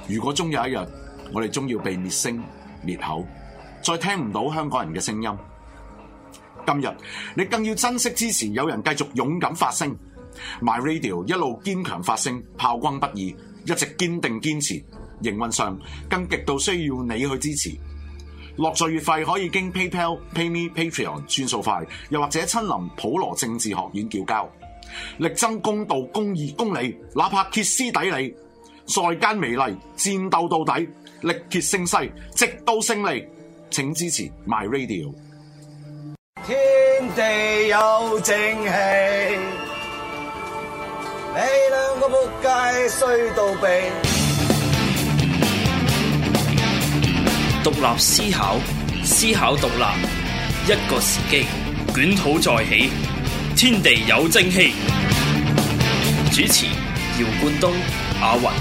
如果終有一日，我哋終要被滅聲滅口，再聽唔到香港人嘅聲音。今日你更要珍惜支持有人繼續勇敢發聲 ，My Radio 一路堅強發聲，炮轟不已，一直堅定堅持。營運上更極度需要你去支持。落座月費可以經 PayPal、PayMe、Patreon 轉數快，又或者親臨普羅政治學院叫交，力爭公道、公義、公理，哪怕歇斯底里，在間美麗，戰鬥到底，力竭勝勢，直到勝利。請支持 My Radio。 天地有正氣，你兩個仆街衰到痹。 獨立思考，思考獨立，一個時機，捲土再起，天地有正氣。主持：姚冠東、阿雲。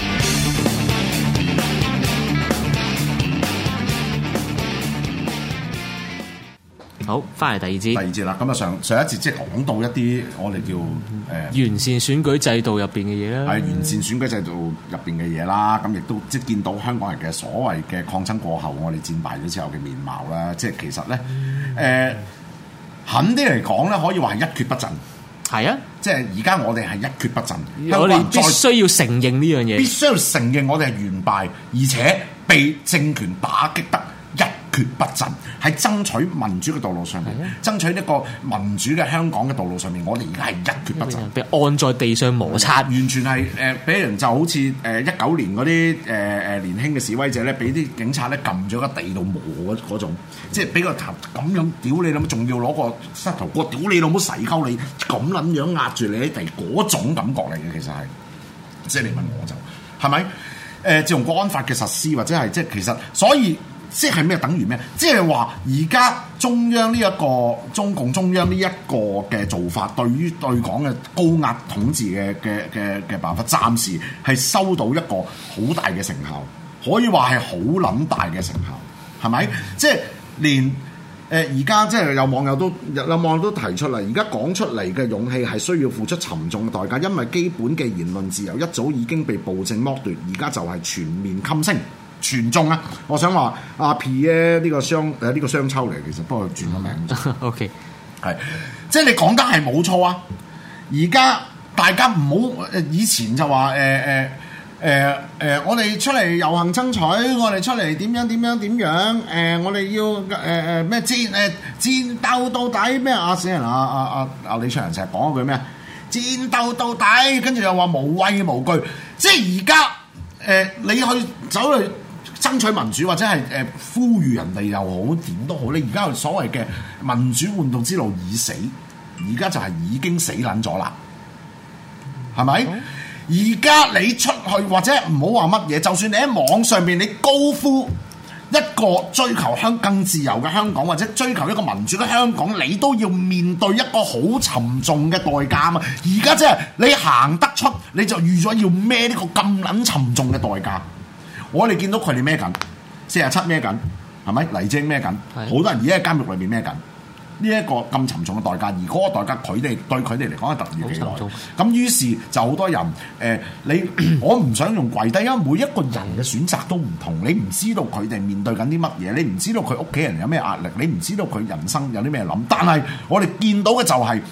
好，翻嚟第二節啦。咁啊，上一節即係講到一啲我哋叫完善選舉制度入邊嘅嘢啦， 係完善選舉制度入邊嘅嘢啦。咁亦都即係見到香港人嘅所謂嘅抗爭過後，我哋戰敗咗之後嘅面貌啦。即係其實咧，狠啲嚟講咧，可以話係一蹶不振。係啊，即係而家我哋係一蹶不振。 我哋必須要承認呢樣嘢， 必須要承認我哋係完敗，而且被政權打擊得一蹶不振。喺爭取民主嘅道路上面，爭取一個民主嘅香港嘅道路上面，我哋而家係一蹶不振， 被按在地上摩擦， 完全係俾人就好似19年嗰啲年輕嘅示威者咧，俾啲警察咧撳咗個地度磨嗰種，即係俾個頭咁樣屌你老母，仲要攞個膝頭哥屌你老母洗溝你，咁撚樣壓住你喺地嗰種感覺嚟嘅，其實係，即係你問我就係咪？自從國安法嘅實施或者係即係其實所以。即係咩？等於咩？即係話而家中央呢一個中共中央呢一個嘅做法，對於對港嘅高壓統治嘅辦法，暫時係收到一個好大嘅成效，可以話係好撚大嘅成效，係咪？即係連而家即係有網友都提出嚟，而家講出嚟嘅勇氣係需要付出沉重嘅代價，因為基本嘅言論自由一早已經被暴政剝奪，而家就係全面噤聲。全中啊！我想話阿 P 咧呢個雙秋嚟，其實不過轉咗名。 OK， 係即係你講得係冇錯啊！而家大家唔好以前就話我哋出嚟遊行爭取，我哋出嚟點樣我哋要咩戰鬥到底咩啊！死人阿李卓人成日講嗰句咩戰鬥到底，跟住又話無畏無懼，即係而家你去走去爭取民主或者係呼籲人哋又好點都好，你而家所謂嘅民主運動之路已死，而家就係已經死撚咗啦，係咪？而家你出去或者唔好話乜嘢，就算你喺網上面你高呼一個追求更自由嘅香港，或者追求一個民主嘅香港，你都要面對一個好沉重嘅代價嘛。而家即係你行得出，你就預咗要孭呢個咁撚沉重嘅代價。我哋見到佢哋孭緊47孭緊，係咪？黎智英孭緊，好多人而家喺監獄裏面孭緊呢一個咁沉重嘅代價，而嗰個代價對佢哋嚟講係突如其來。咁於是就好多人我唔想用跪低，因為每一個人嘅選擇都唔同，你唔知道佢哋面對緊啲乜嘢，你唔知道佢屋企人有咩壓力，你唔知道佢人生有啲咩諗。但係我哋見到嘅就係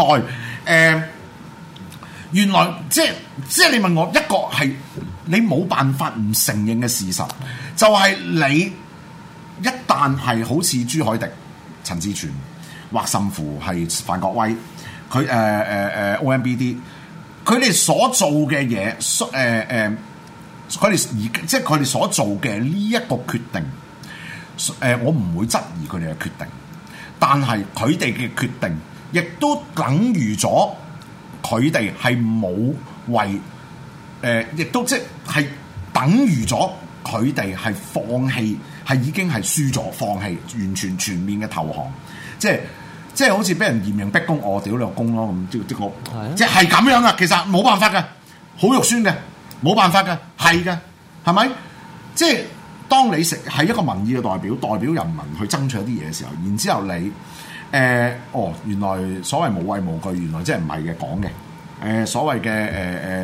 原來即係你問我一個係你冇辦法唔承認嘅事實，就係你一旦係好似朱凱廸、陳志全或甚乎係范國威，佢OMBD， 佢哋所做嘅嘢，佢哋所做嘅呢一個決定，我唔會質疑佢哋嘅決定，但係佢哋嘅決定亦都等於咗。佢哋係冇為亦都即係等於咗佢哋係放棄，係已經係輸咗，放棄完全全面嘅投降，即係好似俾人嚴刑逼供，我屌你個公咯咁，即係咁樣噶。其實冇辦法嘅，好肉酸嘅，冇辦法嘅，係嘅，係咪？即係當你係一個民意嘅代表人民去爭取一啲嘢嘅時候，然之後你。原來所謂無畏無懼，原來即係唔係嘅講嘅。所謂嘅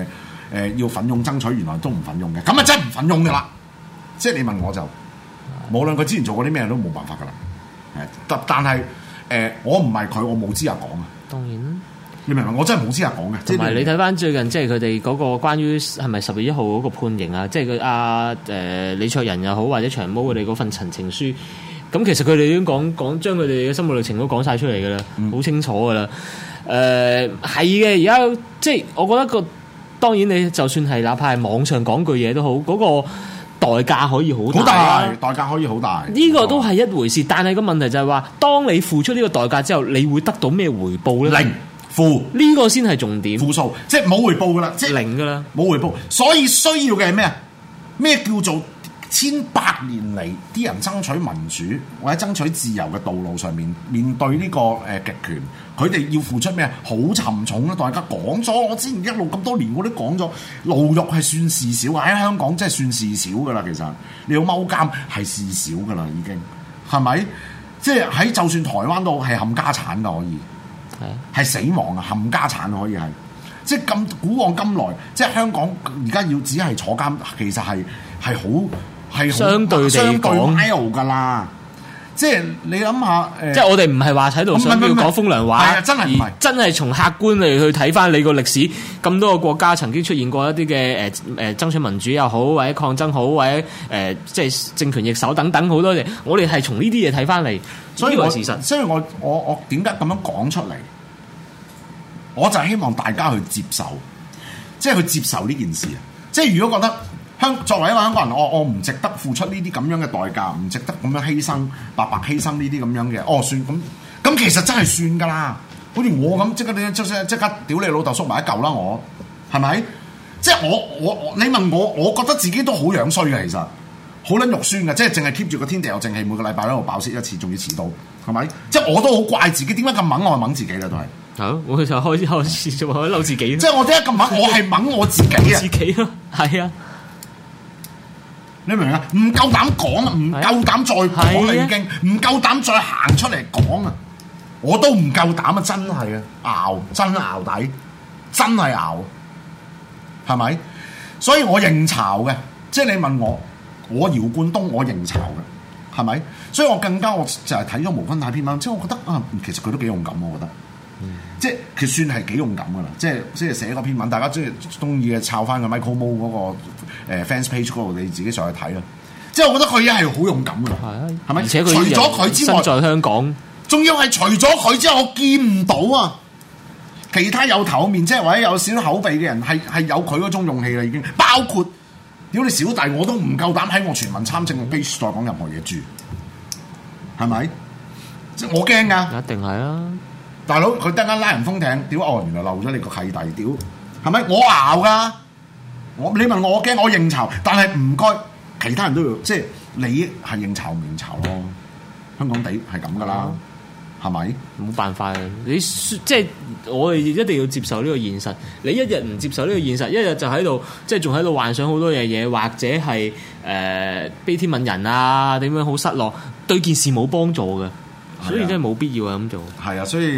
要奮勇爭取，原來都唔奮勇嘅，咁啊真係唔奮勇噶啦。即係你問我就，無論佢之前做過啲咩都冇辦法噶啦。但係我唔係佢，我冇資格講啊。 當然啦。 你明唔明？我真係冇資格講嘅。 同埋你睇翻最近即係佢哋嗰個關於係咪10月1號嗰個判刑啊？即係佢李卓人又好或者長毛佢哋嗰份陳情書，咁其實佢哋已經講將佢哋嘅心路歷程都講晒出嚟㗎啦，好清楚㗎啦。係嘅，而家即係我覺得當然你就算係哪怕係網上講句嘢都好，嗰個代價可以好大， 代價可以好大。 呢個都係一回事，但係個問題就係話，當你付出呢個代價之後，你會得到咩回報咧？ 零。負呢個先係重點， 負數，即係冇回報噶啦，即係零噶啦， 冇回報。所以需要嘅係咩啊？咩叫做千百年嚟啲人爭取民主或者爭取自由嘅道路上面對呢個極權，佢哋要付出咩？好沉重啦！大家講咗，我之前一路咁多年我都講咗，牢獄係算事少，喺香港真係算事少噶啦。其實你要踎監係事少噶啦，已經係咪？即係喺就算台灣都係冚家產噶，可以。係死亡啊！冚家產可以係，即係咁古往今來，即係香港而家要只係坐監，其實係好相對地講 mild 噶啦。即係你諗下， 即係我哋唔係話喺度想要講風涼話， 係啊，真係唔係，真係從客觀嚟去睇翻你個歷史，咁多個國家曾經出現過一啲嘅爭取民主又好，或者抗爭好，或者即係政權易手等等好多嘢，我哋係從呢啲嘢睇翻嚟，所以事實。 所以我點解咁樣講出嚟？我就係希望大家去接受，即係去接受呢件事啊！即係如果覺得作為一個香港人，我唔值得付出呢啲咁樣嘅代價，唔值得咁樣犧牲，白白犧牲呢啲咁樣嘅，算咁其實真係算㗎啦！好似我咁，即刻屌你老豆縮埋一嚿啦！我係咪？即係你問我覺得自己都好樣衰嘅，其實好撚肉酸嘅，即係淨係 keep 住個天地有正氣，每個禮拜喺度爆蝕一次，仲要遲到，係咪？即係我都好怪自己，點解咁猛？我係猛自己啦，都係。 好，我就開始就話嬲自己。 即係我點解咁猛？我係猛我自己啊！ 自己咯，係啊。 你明唔明啊？唔夠膽講啊，唔夠膽再講啦，已經唔夠膽再行出嚟講啊！我都唔夠膽啊！真係啊，真淆底，真係淆，係咪？所以我認巢嘅，即係你問我姚冠東，我認巢嘅，係咪？所以我就係睇咗無分太篇文，即係我覺得其實佢都幾勇敢，我覺得。即係佢算係幾勇敢噶啦，即係寫嗰篇文，大家中意嘅抄翻個 Michael Mo 嗰個fans page 嗰度，你自己上去睇啦。即係我覺得佢一係好勇敢噶啦，係咪？而且佢除咗佢之外，身在香港，仲要係除咗佢之外，我見唔到啊！其他有頭面，即係或者有少少口鼻嘅人，係有佢嗰種勇氣啦，已經。包括屌你小弟，我都唔夠膽喺我全民參政嘅 page 再講任何嘢住，係咪？即係我驚噶，一定係啊！大佬，佢突然間拉人封艇，屌！原來漏咗你個契弟，屌，係咪？我熬噶，你問我驚，我認巢，但係唔該，其他人都要，即係你係認巢唔認巢咯。香港地係咁噶啦，係咪？冇辦法啊！你即係我哋一定要接受呢個現實。你一日唔接受呢個現實，一日就喺度，即係仲喺度幻想好多嘢，或者係悲天憫人啊，點樣好失落，對件事冇幫助嘅。所以真係冇必要咁做。係啊，所以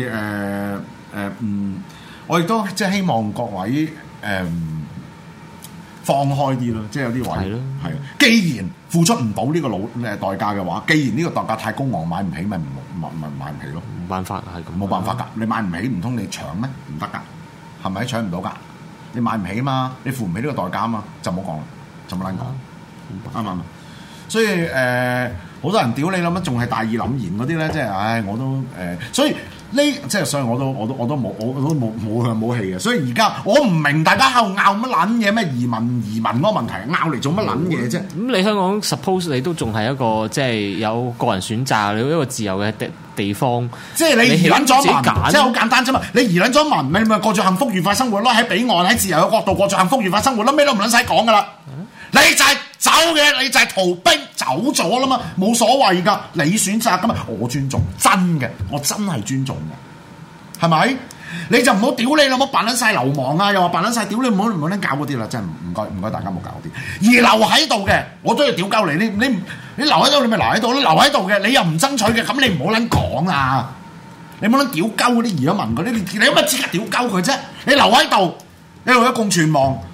我亦都即係希望各位放開啲咯，即係有啲位係咯，係啊。既然付出唔到呢個代價嘅話，既然呢個代價太高昂，買唔起，咪買唔起咯。冇辦法係咁，冇辦法㗎。你買唔起，唔通你搶咩？唔得㗎，係咪？搶唔到㗎。你買唔起嘛，你付唔起呢個代價嘛，就唔好講啦，就冇撚講，啱唔啱？所以好多人屌你諗乜，仲係大義凜然嗰啲咧，即係我都所以所以我都冇氣嘅。所以而家我唔明大家喺度拗乜撚嘢，咩移民嗰個問題，拗嚟做乜撚嘢啫？咁你香港 suppose 你都仲係一個即係有個人選擇，你一個自由嘅地方。即係你移撚咗民，即係好簡單啫嘛。你移撚咗民，你咪過住幸福愉快生活咯。喺彼岸喺自由嘅角度過住幸福愉快生活咯，咩都唔撚使講噶啦。你就係走嘅，你就係逃兵走咗啦嘛，冇所謂噶，你選擇噶嘛，我尊重，真嘅，我真係尊重嘅，係咪？你就唔好屌你啦，唔好扮撚晒流氓啊，又話扮撚晒屌你，唔好撚搞嗰啲啦，真係唔該大家冇搞嗰啲。而留喺度嘅，我都要屌鳩你，你留喺度，你咪留喺度咯，留喺度嘅，你又唔爭取嘅，咁你唔好撚講啊！你唔好撚屌鳩嗰啲移咗民嗰啲，你有乜資格屌鳩佢啫？你留喺度，你為咗共存亡。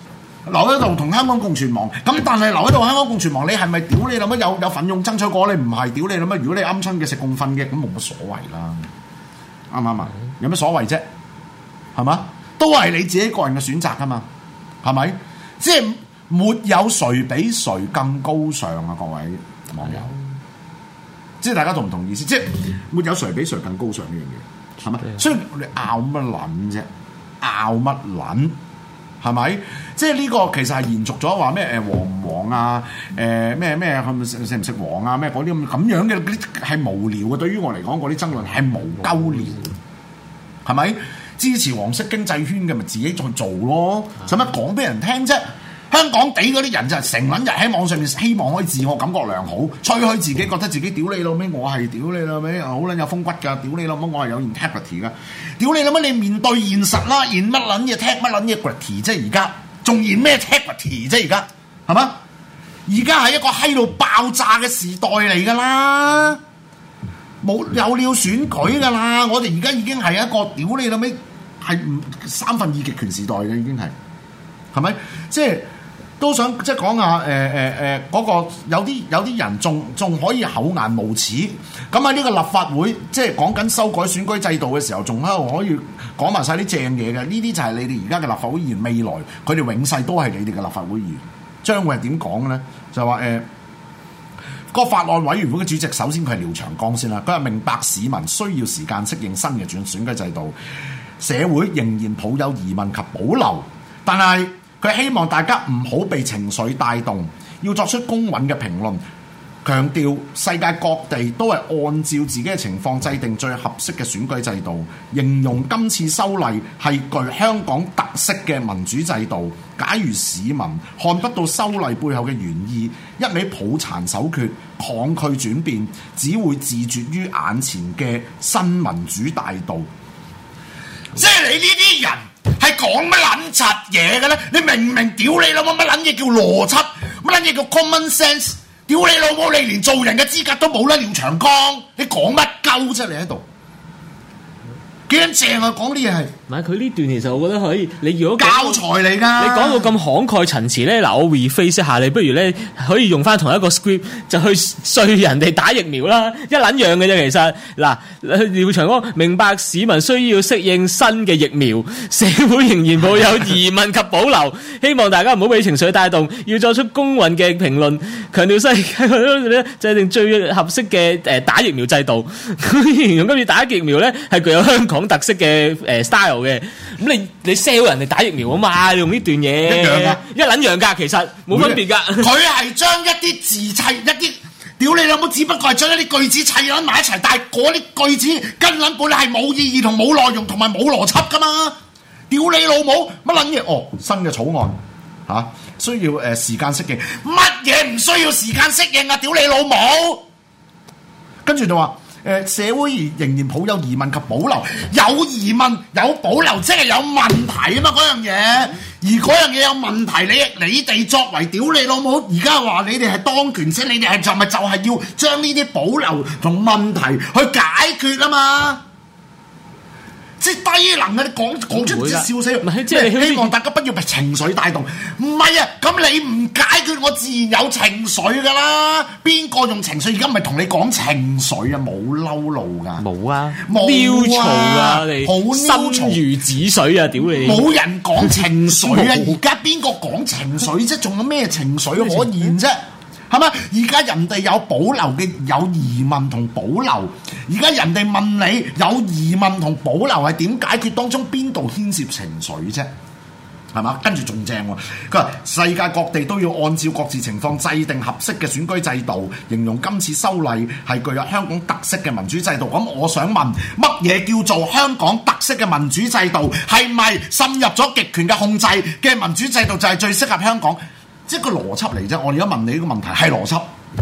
留喺度同香港共存亡。咁但係留喺度香港共存亡，你係咪屌你諗乜有奮勇爭取過？你唔係屌你諗乜？如果你啱親嘅食共瞓嘅，咁冇乜所謂啦。啱唔啱啊？有乜所謂啫？係嘛？都係你自己個人嘅選擇㗎嘛？係咪？即係沒有誰比誰更高尚啊！各位網友，即係大家同唔同意思？即係沒有誰比誰更高尚呢樣嘢，係咪？所以你拗乜撚啫？拗乜撚？係咪？即係呢個其實係延續咗話咩黃唔黃啊？咩係咪食唔食黃啊？咩嗰啲咁樣嘅嗰啲係無聊嘅。對於我嚟講，嗰啲爭論係無鳩聊，係咪？支持黃色經濟圈嘅咪自己再做咯，使乜講俾人聽啫？香港地嗰啲人就係成撚日喺網上面希望可以自我感覺良好，吹噓自己覺得自己屌你老味，我係屌你老味，好撚有風骨㗎，屌你老母我係有 integrity 㗎，屌你老母你面對現實啦，現乜撚嘢 tag 乜撚嘢 gritty 啫而家，仲現咩 integrity 啫而家，係嘛？而家係一個閪到爆炸嘅時代嚟㗎啦，冇有了選舉㗎啦，我哋而家已經係一個屌你老味係3分2極權時代嘅已經係咪？即係。都想即係講下嗰個有啲人仲可以厚顏無恥，咁喺呢個立法會即係講緊修改選舉制度嘅時候，仲喺度可以講埋晒啲正嘢嘅，呢啲就係你哋而家嘅立法會議員，未來佢哋永世都係你哋嘅立法會議員，將會係點講咧？就話個法案委員會嘅主席，首先佢係廖長江先啦，佢係明白市民需要時間適應新嘅選舉制度，社會仍然抱有疑問及保留，但係佢希望大家唔好被情緒帶動，要作出公允嘅評論，強調世界各地都係按照自己嘅情況制定最合適嘅選舉制度，形容今次修例係具香港特色嘅民主制度。假如市民看不到修例背後嘅原意，一味抱殘守缺、抗拒轉變，只會自絕於眼前嘅新民主大道。即係你呢啲人係講乜撚柒嘢嘅咧？你明唔明？屌你老母，乜撚嘢叫邏輯？乜撚嘢叫 common sense？ 屌你老母，你連做人嘅資格都冇啦！廖長江，你講乜鳩啫？你喺度幾撚正啊！講啲嘢係， 唔係佢呢段其實我覺得可以，你如果教材嚟㗎， 你講到咁慷慨陳詞咧，嗱我 rephrase 一下，你不如咧可以用翻同一個 script 就去說人哋打疫苗啦，一撚樣嘅啫。其實嗱，廖長江明白市民需要適應新嘅疫苗，社會仍然抱有疑問及保留，希望大家唔好俾情緒帶動，要作出公允嘅評論，強調世界咧制定最合適嘅打疫苗制度。形容今次打疫苗咧係具有香港特色嘅style 嘅，咁你 sell 人哋打疫苗啊嘛，你用呢段嘢一樣噶， 一撚樣噶，其實冇分別噶。 佢係將一啲字砌一啲，屌你老母，只不過係將一啲句子砌撚埋一齊，但係嗰啲句子根本係冇意義同冇內容同埋冇邏輯噶嘛，屌你老母乜撚嘢？哦，新嘅草案嚇、需要時間適應，乜嘢唔需要時間適應啊？屌你老母！跟住就話。社會仍然抱有疑問及保留，有疑問有保留，即係有問題啊嘛！嗰樣嘢，而嗰樣嘢有問題，你哋作為屌你老母，而家話你哋係當權者，你哋係就係要將呢啲保留同問題去解決啊嘛！即係低能啊！你講出笑死， 唔係即係希望大家不要被情緒帶動。唔係啊，咁你唔解決，我自然有情緒噶啦。邊個用情緒？而家唔係同你講情緒啊，冇嬲路噶， 冇啊， 冇飆嘈啊，你好心如止水啊！屌你， 冇人講情緒啊！而家邊個講情緒啫？仲有咩情緒可言啫？係嘛？而家人哋有保留嘅，有疑問同保留。而家人哋問你有疑問同保留係點解決？當中邊度牽涉情緒啫？係嘛？跟住仲正喎，佢話世界各地都要按照各自情況制定合適嘅選舉制度，形容今次修例係具有香港特色嘅民主制度。咁我想問，乜嘢叫做香港特色嘅民主制度？係咪滲入咗極權嘅控制嘅民主制度就係最適合香港？即係個邏輯嚟啫，我而家問你呢個問題係邏輯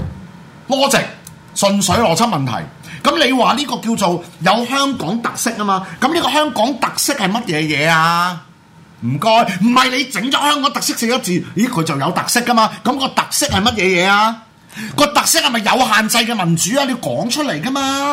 ，logic，純粹邏輯問題。咁你話呢個叫做有香港特色啊嘛？咁呢個香港特色係乜嘢嘢啊？唔該，唔係你整咗香港特色4個字，咦佢就有特色噶嘛？咁個特色係乜嘢嘢啊？個特色係咪有限制嘅民主啊？你要講出嚟噶嘛？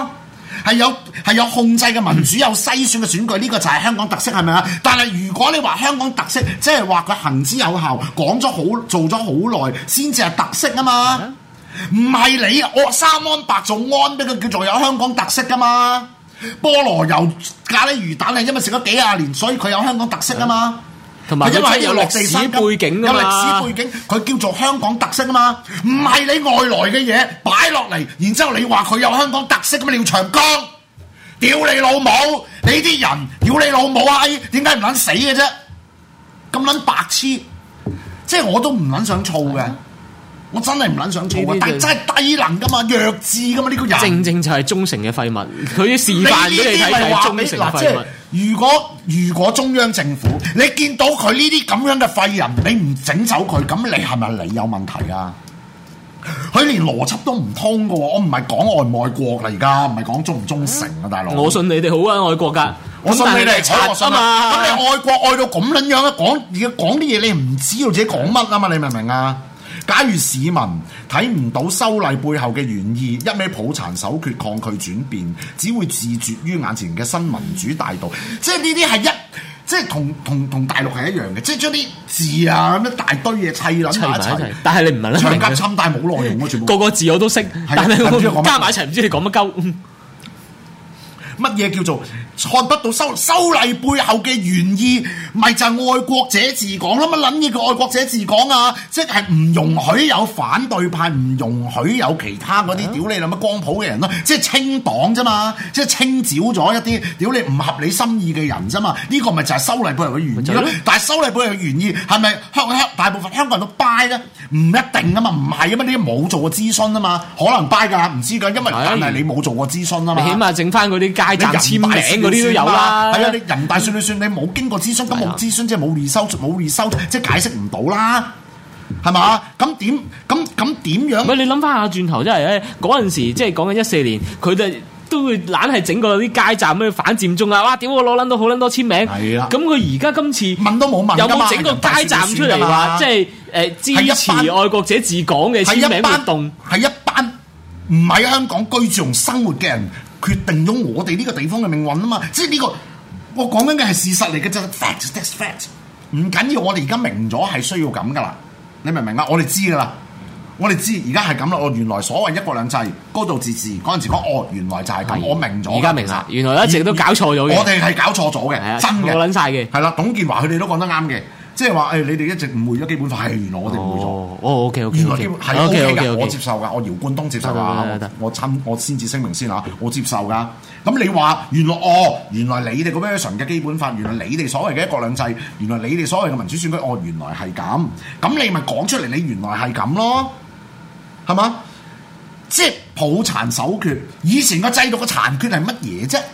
係有控制嘅民主，有篩選嘅選舉，呢個就係香港特色，係咪啊？但係如果你話香港特色，即係話佢行之有效，講咗好，做咗好耐，先至係特色啊嘛。唔係你我三安白做安，俾佢叫做有香港特色噶嘛？菠蘿油咖喱魚蛋係因為食咗幾廿年，所以佢有香港特色啊嘛。 同埋因為有歷史背景啊嘛， 有歷史背景，佢叫做香港特色啊嘛。唔係你外來嘅嘢擺落嚟，然之後你話佢有香港特色咁啊？廖長江，屌你老母！你啲人屌你老母閪，點解唔撚死嘅啫？咁撚白痴，即係我都唔撚想燥嘅。我真係唔撚想做啊！但係真係低能噶嘛，弱智噶嘛呢個人。正就係忠誠嘅廢物，佢示範俾你睇係忠誠嘅廢物。 如果中央政府你見到佢呢啲咁樣嘅廢人，你唔整走佢，咁你係咪你有問題啊？佢連邏輯都唔通噶喎！我唔係講愛唔愛國啦，而家唔係講忠唔忠誠啊，大佬。 我信你哋好啊，愛國㗎。 我信你哋係賊啊嘛！ 咁你愛國愛到咁撚樣啊？講啲嘢你唔知道自己講乜啊嘛？你明唔明啊？假如市民睇唔到修例背後嘅原意，一味抱殘守缺、抗拒轉變，只會自絕於眼前嘅新民主大道。即係呢啲係即係同大陸係一樣嘅，即係將啲字啊咁一大堆嘢砌撚埋一齊。 但係你唔係咧， 長夾侵帶冇內容喎，全部個字我都識，但係我加埋一齊唔知你講乜鳩。 乜嘢叫做看不到修例背後嘅原意？咪就係愛國者治港啦！乜撚嘢叫愛國者治港啊？即係唔容許有反對派，唔容許有其他嗰啲屌你諗乜光譜嘅人咯，即係清黨啫嘛，即係清剿咗一啲屌你唔合你心意嘅人啫嘛。呢個咪就係修例背後嘅原意咯。但係修例背後嘅原意係咪大部分香港人都 buy 咧？唔一定啊嘛，唔係啊嘛，呢啲冇做過諮詢啊嘛，可能 buy 㗎，唔知㗎，因為但係你冇做過諮詢啊嘛。 你起碼整翻嗰啲街站簽名嗰啲都有啦。 係啊，你人大算你算，你冇經過諮詢，咁冇諮詢即係冇resource，即係解釋唔到啦，係嘛？咁點樣？ 唔係你諗翻下轉頭，真係咧嗰陣時，即係講緊14年，佢哋都會懶係整個啲街站咩反佔中啊！哇！屌我攞撚到好撚多簽名，係啊！咁佢而家今次問都冇問， 有冇整個街站出嚟話，即係支持愛國者治港嘅簽名活動？ 係一班唔喺香港居住同生活嘅人決定咗我哋呢個地方嘅命運啊嘛！即係呢個。我講緊嘅係事實嚟嘅啫 ，fact，that's fact。唔緊要，我哋而家明咗係需要咁噶啦，你明唔明啊？我哋知噶啦，我哋知而家係咁啦。我原來所謂一國兩制、高度自治嗰陣時講，原來就係咁，我明咗。 而家明啦，原來一直都搞錯咗嘅。 我哋係搞錯咗嘅，真嘅。 我撚晒嘅。 係啦，董建華佢哋都講得啱嘅。即係話你哋一直誤會咗基本法，係原來我哋誤會咗。 OK， 原來基本係 OK 嘅，我接受㗎，我姚冠東接受㗎，我先至聲明先嚇，我接受㗎。咁你話原來你哋個 version 嘅基本法，原來你哋所謂嘅一國兩制，原來你哋所謂嘅民主選舉，原來係咁。咁你咪講出嚟，你原來係咁咯，係嘛？即係抱殘守缺，以前個制度嘅殘缺係乜嘢啫？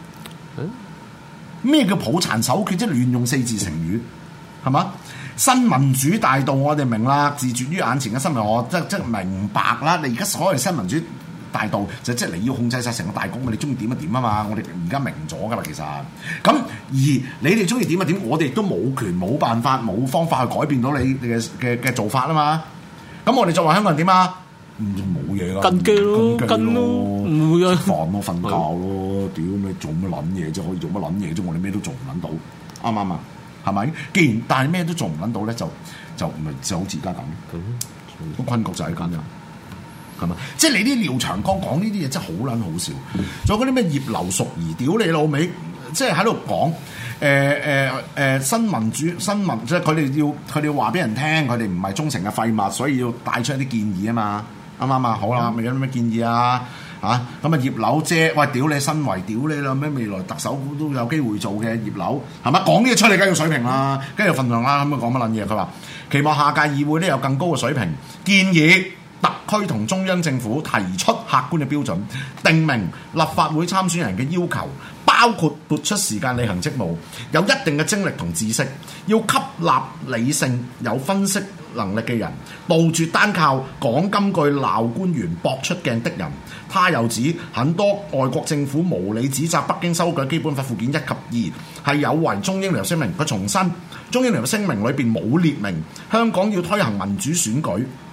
咩叫抱殘守缺？即係亂用4字成語。係嘛？新民主大道我哋明啦，自絕於眼前嘅新聞，我即明白啦。你而家所謂新民主大道就即係你要控制晒成個大局，你中意點就點啊嘛！我哋而家明咗噶啦，其實咁而你哋中意點就點，我哋亦都冇權冇辦法冇方法去改變到你嘅做法啊嘛！咁我哋作為香港人點啊？冇嘢啦， 跟機咯，唔會啊！ 煩咯，瞓覺咯，屌你做乜撚嘢啫？可以做乜撚嘢啫？我哋咩都做唔撚到，啱唔啱啊？係咪？既然但係咩都做唔撚到咧，就咪就好似而家咁，個困局就係咁樣，係咪？即係你啲廖長江講呢啲嘢真係好撚好笑，仲有嗰啲咩葉劉淑儀屌你老味，即係喺度講新民主新民，即係佢哋要話俾人聽，佢哋唔係忠誠嘅廢物，所以要帶出一啲建議啊嘛，啱唔啱啊？好啦，咪有啲咩建議啊？咁啊葉劉姐，喂屌你身為屌你啦咩？未來特首都有機會做嘅葉劉，係咪講啲嘢出嚟梗係有水平啦，梗係有份量啦，咁啊講乜撚嘢？佢話期望下屆議會咧有更高嘅水平，建議特區同中央政府提出客觀嘅標準，定明立法會參選人嘅要求，包括撥出時間履行職務，有一定嘅精力同知識，要吸納理性有分析能力嘅人，杜絕單靠講金句鬧官員搏出鏡的人。他又指很多外國政府無理指責北京修改基本法附件1及2係有違中英聯合聲明。佢重申中英聯合聲明裏邊冇列明香港要推行民主選舉，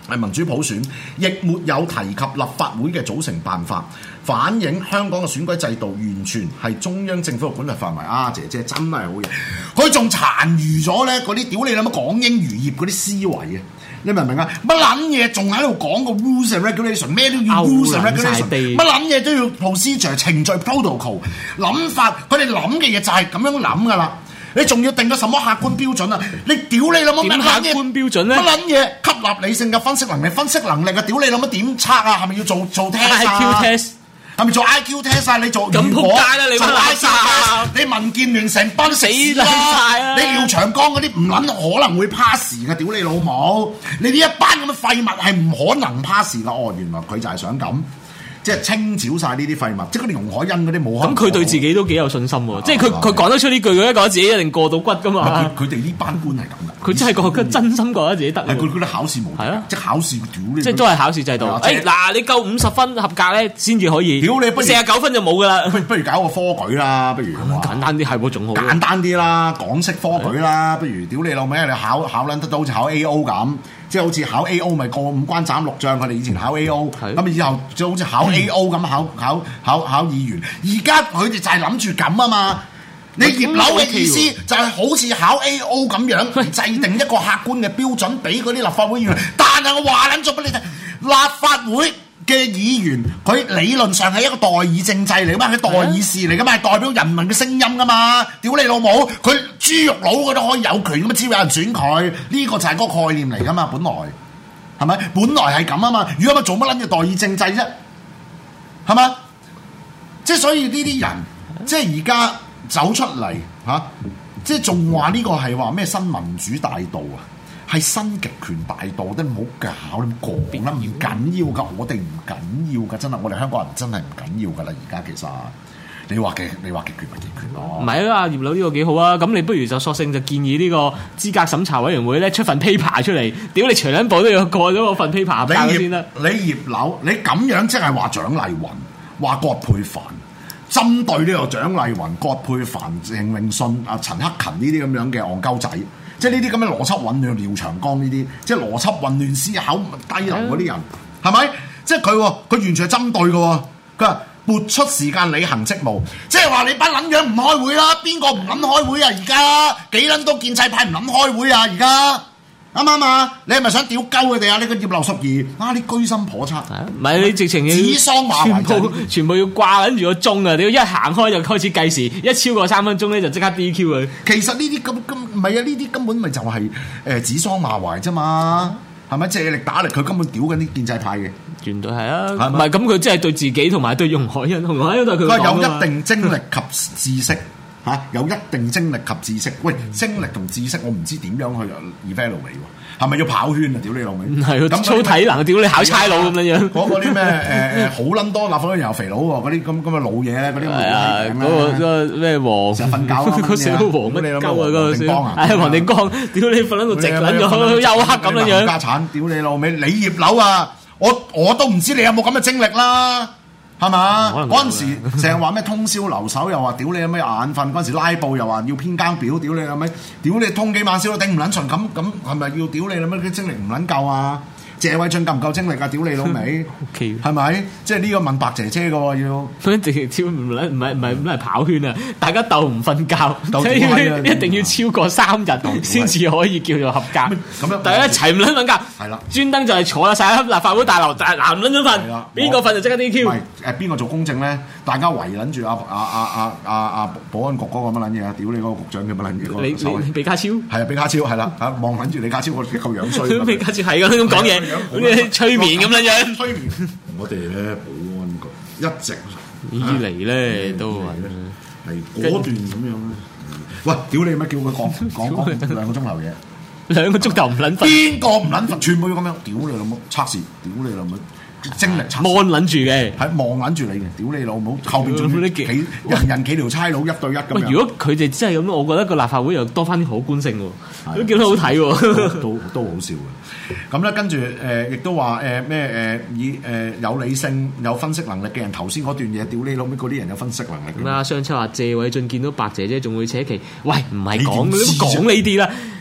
民主普選，亦沒有提及立法會嘅組成辦法，反映香港嘅選舉制度完全係中央政府嘅管轄範圍。啊，姐姐真係好嘢，佢仲殘餘咗咧嗰啲屌你諗乜港英餘孽嗰啲思維啊！你明唔明啊？乜撚嘢仲喺度講個 rules and regulation， 咩都要 rules and regulation， 乜撚嘢都要 procedure 程序 protocol 諗法，佢哋諗嘅嘢就係咁樣諗噶啦。你仲要定個什麼客觀標準啊？你屌你諗乜？ 點客觀標準咧？ 乜撚嘢吸納理性嘅分析能力啊？屌你諗乜點測啊？係咪要做 test 啊 IQ test？ 係咪做 IQ test 啊？你做咁仆街啦！你做 IQ test， 你民建聯成班死啦！你廖長江嗰啲唔撚可能會 pass 嘅，屌你老母！你呢一班咁嘅廢物係唔可能 pass 噶。哦，原來佢就係想咁。即係清剿晒呢啲廢物，即係嗰啲容海恩嗰啲冇。 咁佢對自己都幾有信心喎，即係佢講得出呢句，佢覺得自己一定過到骨噶嘛。 佢哋呢班官係咁噶， 佢真係覺得真心覺得自己得。 佢覺得考試無係啊，即係考試屌你， 即係都係考試制度。嗱，你夠50分合格咧，先至可以。屌你，49分就冇噶啦。不如搞個科舉啦，不如簡單啲係喎，仲好。 簡單啲啦，港式科舉啦，不如屌你老味，你考撚得到好似考 A.O. 咁。即係好似考 A.O. 咪過5關斬6將，佢哋以前考 A.O. 咁以後就好似考 A.O. 咁考議員。而家佢哋就係諗住咁啊嘛。你葉劉嘅意思就係好似考 A.O. 咁樣，制定一個客觀嘅標準俾嗰啲立法會議員。但係我話撚咗俾你聽，立法會嘅議員佢理論上係一個代議政制嚟噶嘛，佢代議士嚟噶嘛，係代表人民嘅聲音噶嘛。屌你老母，佢豬肉佬佢都可以有權咁嘛，只要有人選佢，呢個就係嗰個概念嚟噶嘛。本來係咪？本來係咁啊嘛。如果咪做乜撚嘢代議政制啫？係嘛？即係所以呢啲人，即係而家走出嚟嚇，即係仲話呢個係話咩新民主大道啊？係新極權大道，都唔好搞，你講啦，唔緊要噶，我哋唔緊要噶，真係，我哋香港人真係唔緊要噶啦，而家其實你話極權咪極權咯， 唔係啊，葉劉呢個幾好啊，咁你不如就索性就建議呢個資格審查委員會咧出份 paper 出嚟，屌你全撚部都要過咗嗰份 paper 先得。 你葉劉，你咁樣即係話蔣麗芸、話葛珮帆，針對呢個蔣麗芸、葛珮帆、鄭泳舜、陳克勤呢啲咁樣嘅戇鳩仔。即係呢啲咁嘅邏輯混亂，廖長江呢啲，即係邏輯混亂、思考低能嗰啲人，係咪？即係佢完全係針對嘅。佢話撥出時間履行職務，即係話你班撚樣唔開會啦，邊個唔撚開會啊？而家幾撚多建制派唔撚開會啊？而家啱唔啱啊？你係咪想屌鳩佢哋啊？你個葉劉淑儀啊，你居心叵測， 唔係你直情要指桑罵槐， 全部要掛緊住個鐘啊！你一行開就開始計時，一超過3分鐘咧就即刻 DQ 佢。 其實呢啲咁唔係啊，呢啲根本咪就係指桑罵槐啫嘛，係咪借力打力？佢根本屌緊啲建制派嘅， 絕對係啊！唔係咁佢即係對自己同埋對容海恩，容海恩都係佢講有一定精力及知識。有一定精力及知識，喂，精力同知識我唔知點樣去 evaluate 喎，係咪要跑圈啊？屌你老味，唔係咁操體能，屌你考差佬咁樣樣。 嗰啲咩好撚多立法會又肥佬喎，嗰啲咁嘅老嘢咧，嗰啲嗰個咩黃成日瞓覺嗰小黃乜鳩啊嗰個小， 係黃定光，屌你瞓喺度直撚咗休克咁樣樣。 家產，屌你老味，你葉劉啊，我都唔知你有冇咁嘅精力啦。係嘛？嗰陣時成日話咩通宵留守，又話屌你有咩眼瞓。嗰陣時拉布又話要編更表，屌你有咩？屌你通幾晚宵都頂唔撚順，咁係咪要屌你有咩啲精力唔撚夠啊？謝偉俊夠唔夠精力啊？屌你老味，係咪？即係呢個問白姐姐嘅喎要。佢直接超唔係跑圈啊！大家鬥唔瞓覺，一定要超過3日先至可以叫做合格。咁樣大家一齊唔撚瞓覺，係啦，專登就係坐晒喺立法會大樓，但係嗱唔撚咗瞓，邊個瞓就即刻 DQ。唔係邊個做公證咧？大家圍撚住保安局嗰個乜撚嘢啊！屌你嗰個局長嘅乜撚嘢？ 你比卡超係啊，比卡超係啦，望撚住李家超個夠樣衰。 比卡超係咁講嘢。好似催眠咁樣樣， 催眠。我哋咧保安局一直以嚟咧都係果斷咁樣咧。喂，屌你乜叫佢講2個鐘頭嘢 ？2個鐘頭唔撚瞓， 邊個唔撚瞓？全部要咁樣，屌你老母測試，屌你老母精力測試， 望撚住嘅， 係望撚住你嘅，屌你老母後邊仲要人幾條差佬1對1咁樣。 如果佢哋真係咁，我覺得個立法會又多翻啲可觀性喎，都見到好睇喎， 都好笑嘅。咁咧跟住亦都話以有理性有分析能力嘅人，頭先嗰段嘢，屌你老味嗰啲人有分析能力。 咁啊，上次話謝偉俊見到白姐姐仲會扯旗，喂唔係講呢啲啦，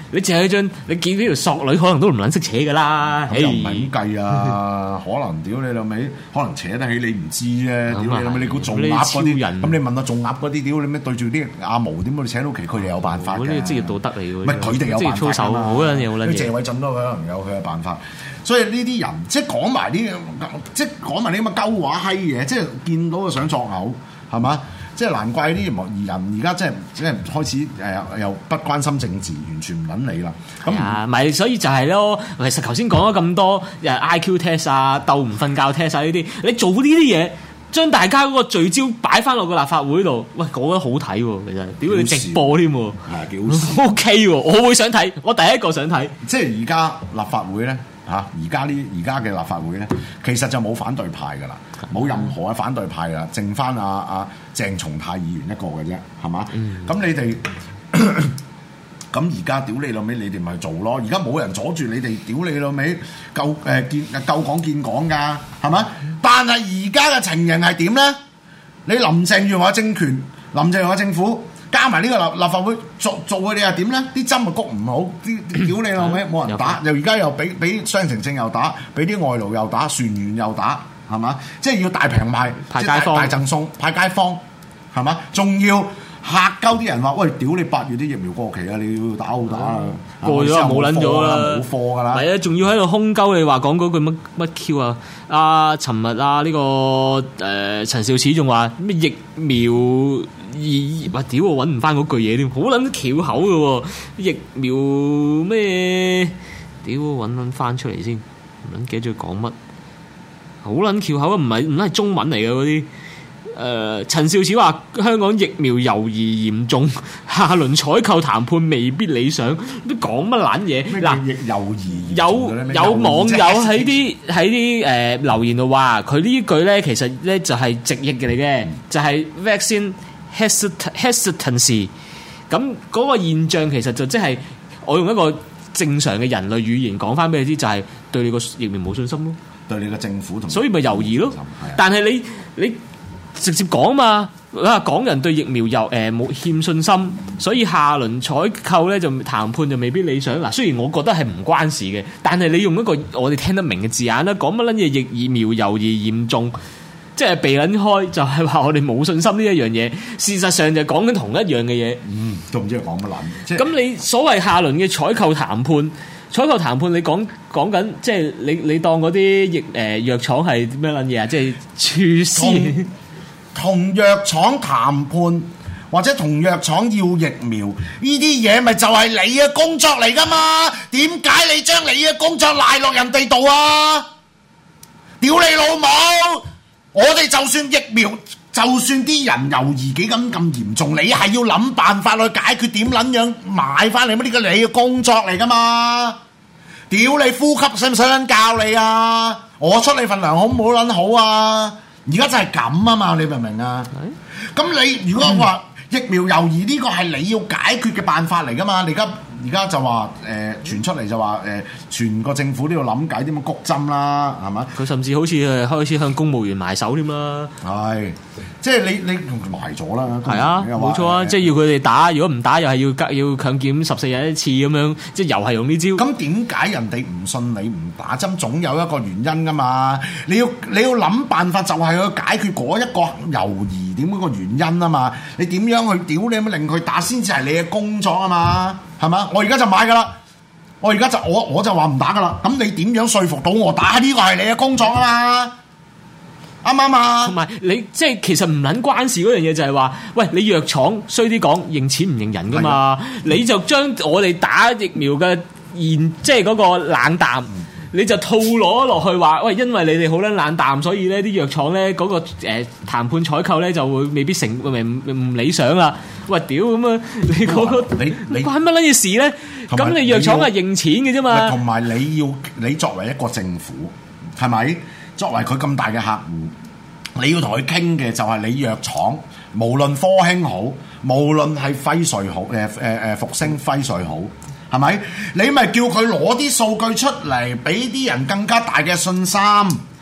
你淨係張你見呢條索女，可能都唔撚識扯噶啦。 咁又唔係咁計啊！可能屌你老味，可能扯得起你唔知啫。屌你老味，你估做鴨嗰啲人，咁你問下做鴨嗰啲，屌你咩對住啲阿毛點會扯到旗？佢哋有辦法嘅。 呢個職業道德嚟嘅。 唔係佢哋有辦法㗎嘛。 好撚嘢，好撚嘢。 謝偉俊都可能有佢嘅辦法。所以呢啲人即係講埋啲即係講埋啲咁嘅鳩話閪嘢，即係見到就想作嘔，係嘛？即係難怪啲人而家即係開始又不關心政治，完全唔撚理啦。咁咪所以就係咯。其實頭先講咗咁多IQ test 啊、鬥唔瞓覺 test 啊呢啲，你做呢啲嘢，將大家嗰個聚焦擺翻落個立法會度，喂，講得好睇喎，其實屌你直播添喎， 係幾好笑 OK 喎，我會想睇，我第一個想睇。 即係而家立法會咧。而家嘅立法會咧，其實就冇反對派噶啦，冇任何嘅反對派噶，剩翻阿鄭松泰議員一個嘅啫，係嘛？咁你哋咁而家屌你老味，你哋咪做咯。而家冇人阻住你哋，屌你老味夠講見講㗎，係嘛？但係而家嘅情形係點咧？你林鄭月娥政權、林鄭月娥政府。加埋呢個立法會做佢哋又點咧？啲針又谷唔好，啲屌你老味冇人打，又而家又俾雙程證又打，俾啲外勞又打，船員又打，係嘛？即係要大平賣， 派街坊、 大贈送，派街坊，係嘛？仲要嚇鳩啲人話：喂，屌你8月啲疫苗過期啊！你要打好打啊！ 過咗就冇撚咗啦， 冇貨㗎啦。 係啊，仲要喺度空鳩你話講嗰句乜 Q 啊？尋日呢個陳肇始仲話咩疫苗？哇！屌我揾唔翻嗰句嘢添，好撚翹口嘅喎，疫苗咩？屌我揾翻出嚟先，唔撚記得咗講乜，好撚翹口啊！唔係中文嚟嘅嗰啲。陳肇始話香港疫苗猶豫嚴重，下輪採購談判未必理想，都講乜撚嘢？嗱， 猶豫有網友喺啲留言度話，佢呢句咧其實咧就係直譯嘅嚟嘅，就係 vaccine hesitancy。咁嗰個現象其實就即係我用一個正常嘅人類語言講翻俾你知，就係對你個疫苗冇信心咯， 對你個政府同， 所以咪猶豫咯。但係你直接講嘛，港人對疫苗又冇欠信心，所以下輪採購咧就談判就未必理想。嗱，雖然我覺得係唔關事嘅，但係你用一個我哋聽得明嘅字眼啦，講乜撚嘢疫苗猶豫嚴重，即係避撚開，就係話我哋冇信心呢一樣嘢。事實上就講緊同一樣嘅嘢。 都唔知佢講乜撚。 咁你所謂下輪嘅採購談判，你講緊即係你當嗰啲藥廠係咩撚嘢啊？即係廚師。 同藥廠談判或者同藥廠要疫苗呢啲嘢，咪就係你嘅工作嚟噶嘛？點解你將你嘅工作賴落人哋度啊？屌你老母！我哋就算疫苗，就算啲人猶豫幾咁嚴重，你係要諗辦法去解決，點撚樣買翻嚟乜？呢個你嘅工作嚟噶嘛？屌你呼吸使唔使撚教你啊？我出你份糧好唔好撚好啊？而家就係咁啊嘛，你明唔明啊？咁你如果話疫苗猶豫呢個係你要解決嘅辦法嚟噶嘛？你而家就話傳出嚟就話全個政府都要諗計點樣谷針啦，係嘛？佢甚至好似開始向公務員埋手添啦。 係，即係你埋咗啦。 係啊，冇錯啊，即係要佢哋打，如果唔打又係要強檢14日一次咁樣，即係又係用呢招。咁點解人哋唔信你唔打針？總有一個原因噶嘛。你要諗辦法，就係去解決嗰一個猶豫點嗰個原因啊嘛。你點樣去屌你咁令佢打先至係你嘅工作啊嘛？係嘛？我而家就買噶啦，我而家就我就話唔打噶啦。咁你點樣說服到我打？呢個係你嘅工作啊嘛，啱唔啱啊？同埋你即係其實唔撚關事嗰樣嘢就係話，喂，你藥廠衰啲講認錢唔認人噶嘛？你就將我哋打疫苗嘅即係嗰個冷淡。你就套攞落去話，喂，因為你哋好撚冷淡，所以咧啲藥廠咧嗰個談判採購咧就會未必唔理想啦。喂，屌咁啊！你嗰個你關乜撚嘢事咧？咁你藥廠係認錢嘅啫嘛。 同埋你作為一個政府，係咪？作為佢咁大嘅客戶，你要同佢傾嘅就係你藥廠，無論科興好，無論係輝瑞好，復星輝瑞好。係咪？你咪叫佢攞啲數據出嚟，俾啲人更加大嘅信心。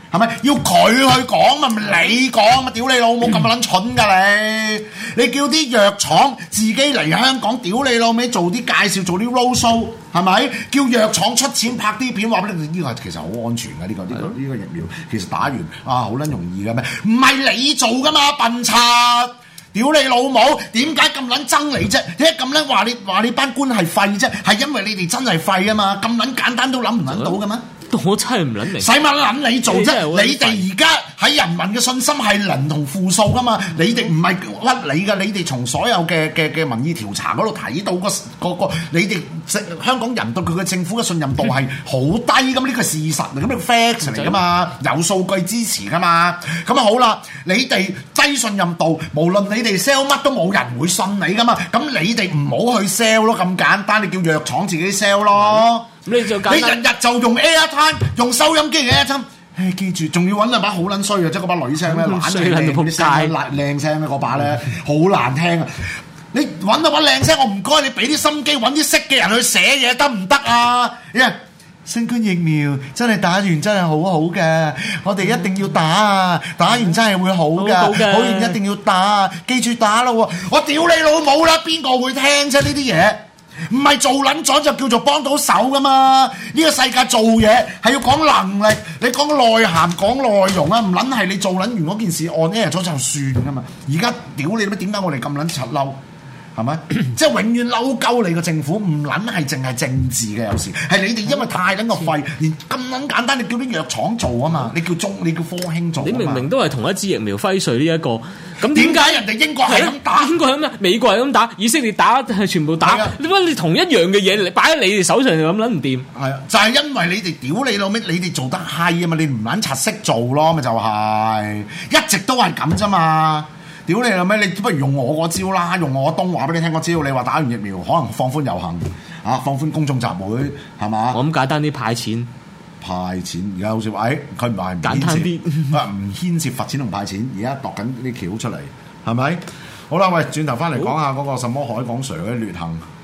係咪要佢去講嘛？唔係你講嘛？屌你老母咁撚蠢㗎你！你叫啲藥廠自己嚟香港，屌你老味做啲介紹，做啲 road show 係咪？叫藥廠出錢拍啲片，話俾你呢個其實好安全嘅呢個疫苗，其實打完好撚容易嘅咩？唔係你做㗎嘛，笨柒！屌你老母！點解咁撚憎你啫？點解咁撚話你班官係廢啫？係因為你哋真係廢啊嘛！咁撚簡單都諗唔撚到嘅咩？ 我真係唔撚明， 使乜撚你做啫？你哋而家喺人民嘅信心係零同負數噶嘛？你哋唔係屈你噶，你哋從所有嘅民意調查嗰度睇到個你哋香港人對佢嘅政府嘅信任度係好低咁，呢個事實嚟，咁呢個 fact 嚟噶嘛？有數據支持噶嘛？咁啊好啦，你哋低信任度，無論你哋 sell 乜都冇人會信你噶嘛？咁你哋唔好去 sell 咯，咁簡單，你叫藥廠自己 sell 咯。你日日就用 Airtime 用收音機嘅 Airtime，記住仲要揾兩把好撚衰嘅，即係嗰把女聲咧，懶係靚聲咧，嗰把咧好難聽啊！你揾到把靚聲，我唔該你俾啲心機揾啲識嘅人去寫嘢得唔得啊？新冠疫苗真係打完真係好好嘅，我哋一定要打啊！打完真係會好㗎，好完一定要打，記住打咯喎！我屌你老母啦，邊個會聽啫呢啲嘢？唔係做撚咗就叫做幫到手噶嘛？呢個世界做嘢係要講能力，你講內涵講內容啊，唔撚係你做撚完嗰件事按 air 咗就算噶嘛？而家屌你咩？點解我哋咁撚柒嬲？係咪？即係永遠嬲鳩你個政府，唔撚係淨係政治嘅，有時係你哋因為太撚個廢，連咁撚簡單，你叫啲藥廠做啊嘛？你叫科興做，你明明都係同一支疫苗輝瑞呢一個，咁點解人哋英國係咁打？ 英國係咁啊，美國係咁打，以色列打係全部打，點解你同一樣嘅嘢，你擺喺你哋手上就咁撚唔掂？係啊， 就係因為你哋屌你老味，你哋做得閪啊嘛，你唔撚柒識做咯，咪就係一直都係咁啫嘛。屌你老味，你不如用我嗰招啦，用我東話俾你聽嗰招。你話打完疫苗可能放寬遊行啊，放寬公眾集會係嘛？ 我咁簡單啲派錢而家好似話，佢唔係唔簡單啲， 唔牽涉罰錢同派錢，而家度緊啲橋出嚟係咪？好啦，喂，轉頭翻嚟講下嗰個什麼海港 Sir 嘅劣行。